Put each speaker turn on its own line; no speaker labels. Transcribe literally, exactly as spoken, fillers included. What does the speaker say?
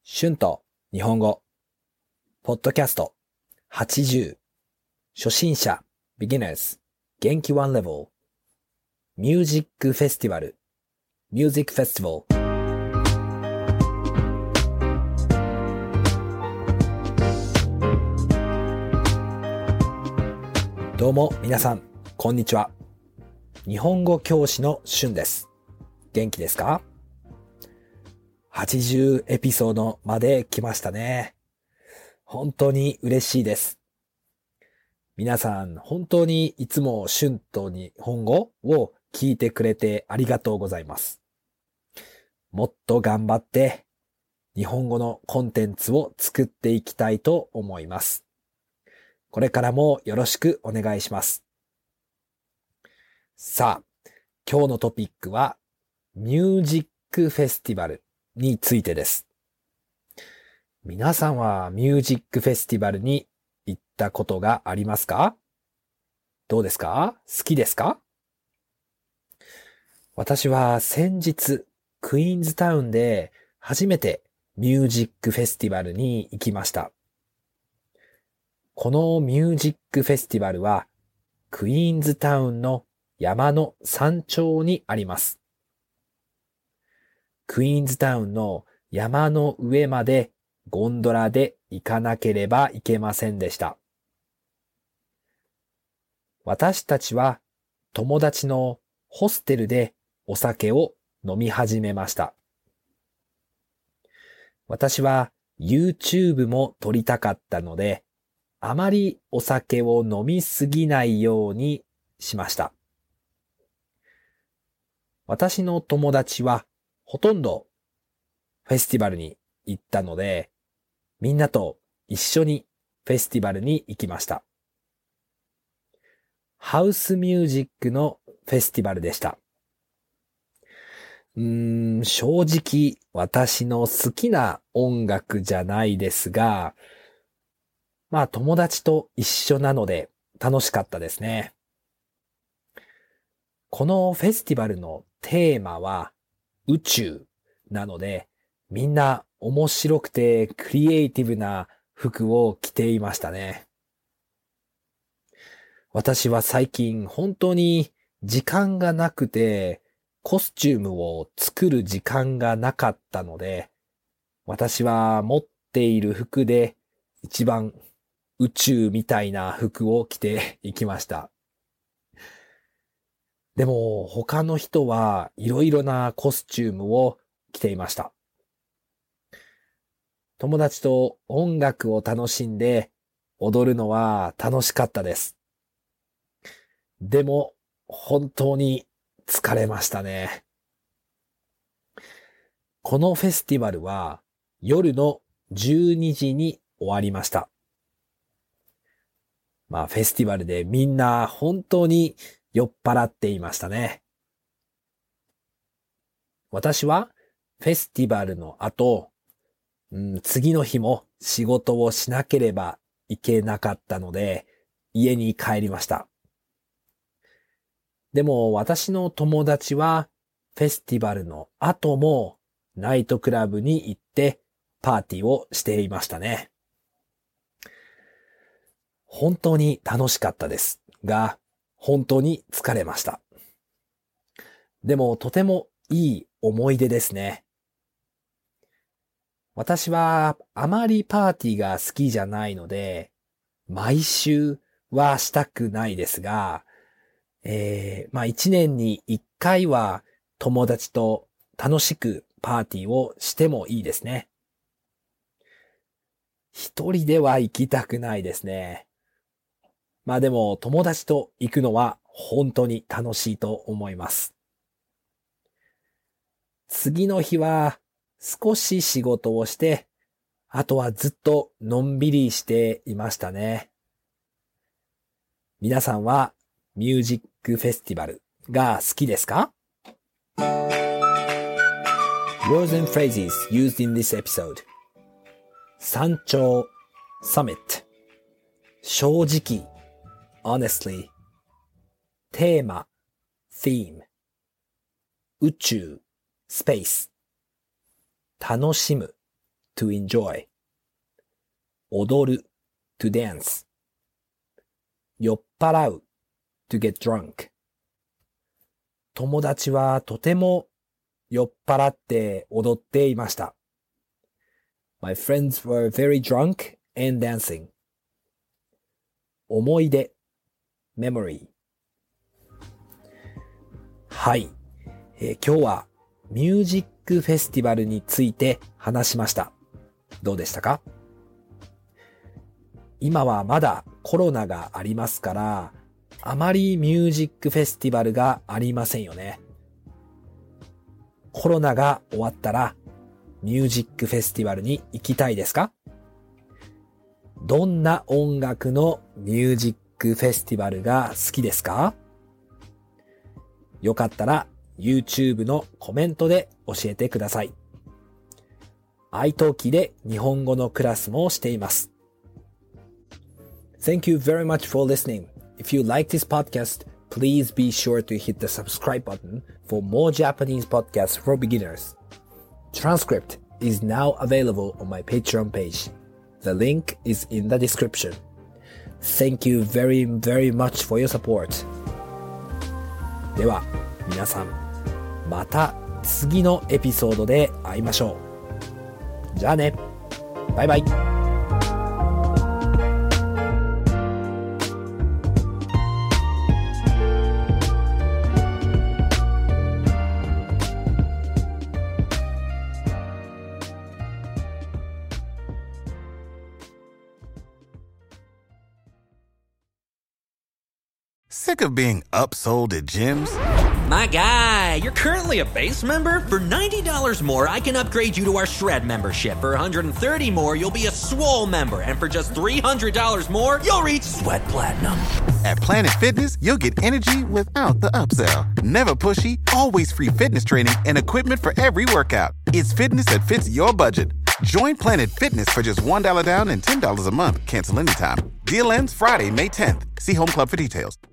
春と日本語ポッドキャストはちじゅう初心者 Beginners 元気ワンレベルミュージックフェスティバルミュージックフェスティバルどうも皆さんこんにちは。日本語教師の春です。元気ですか？はちじゅうエピソードまで来ましたね。本当に嬉しいです。皆さん本当にいつも春と日本語を聞いてくれてありがとうございます。もっと頑張って日本語のコンテンツを作っていきたいと思います。これからもよろしくお願いします。さあ、今日のトピックはミュージックフェスティバルについてです。皆さんはミュージックフェスティバルに行ったことがありますか？どうですか？好きですか？私は先日クイーンズタウンで初めてミュージックフェスティバルに行きました。このミュージックフェスティバルはクイーンズタウンの山の山頂にあります。クイーンズタウンの山の上までゴンドラで行かなければいけませんでした。私たちは友達のホステルでお酒を飲み始めました。私は YouTube も撮りたかったので、あまりお酒を飲みすぎないようにしました。私の友達はほとんどフェスティバルに行ったので、みんなと一緒にフェスティバルに行きました。ハウスミュージックのフェスティバルでした。うーん、正直私の好きな音楽じゃないですが、まあ友達と一緒なので楽しかったですね。このフェスティバルのテーマは宇宙なので、みんな面白くてクリエイティブな服を着ていましたね。私は最近本当に時間がなくてコスチュームを作る時間がなかったので、私は持っている服で一番宇宙みたいな服を着ていきました。でも他の人はいろいろなコスチュームを着ていました。友達と音楽を楽しんで踊るのは楽しかったです。でも本当に疲れましたね。このフェスティバルは夜のじゅうにじに終わりました。まあフェスティバルでみんな本当に酔っ払っていましたね。私はフェスティバルの後、うん、次の日も仕事をしなければいけなかったので家に帰りました。でも私の友達はフェスティバルの後もナイトクラブに行ってパーティーをしていましたね。本当に楽しかったですが、本当に疲れました。でもとてもいい思い出ですね。私はあまりパーティーが好きじゃないので、毎週はしたくないですが、えー、まあ一年に一回は友達と楽しくパーティーをしてもいいですね。一人では行きたくないですね。まあでも友達と行くのは本当に楽しいと思います。次の日は少し仕事をして、あとはずっとのんびりしていましたね。皆さんはミュージックフェスティバルが好きですか？ Words and phrases used in this episode 山頂 Summit 正直 Honestly テーマ Theme 宇宙 Space 楽しむ to enjoy 踊る to dance 酔っ払う to get drunk 友達はとても酔っ払って踊っていました。My friends were very drunk and dancing. 思い出 memory はい、えー、今日はミュージックフェスティバルについて話しました。どうでしたか？今はまだコロナがありますから、あまりミュージックフェスティバルがありませんよね。コロナが終わったらミュージックフェスティバルに行きたいですか？どんな音楽のミュージックフェスティバルが好きですか？よかったら YouTube のコメントで教えてください。iTalki で日本語のクラスもしています。Thank you very much for listening. If you like this podcast, please be sure to hit the subscribe button for more Japanese podcasts for beginners. Transcript is now available on my Patreon page. The link is in the description. Thank you very, very much for your support. では、皆さん、また次のエピソードで会いましょう。じゃあね。バイバイ。
Sick of being upsold at gyms?
My guy, you're currently a base member? For ninety dollars more, I can upgrade you to our Shred membership. For one hundred thirty dollars more, you'll be a Swole member. And for just three hundred dollars more, you'll reach Sweat Platinum.
At Planet Fitness, you'll get energy without the upsell. Never pushy, always free fitness training and equipment for every workout. It's fitness that fits your budget. Join Planet Fitness for just one dollar down and ten dollars a month. Cancel anytime. Deal ends Friday, May tenth. See Home Club for details.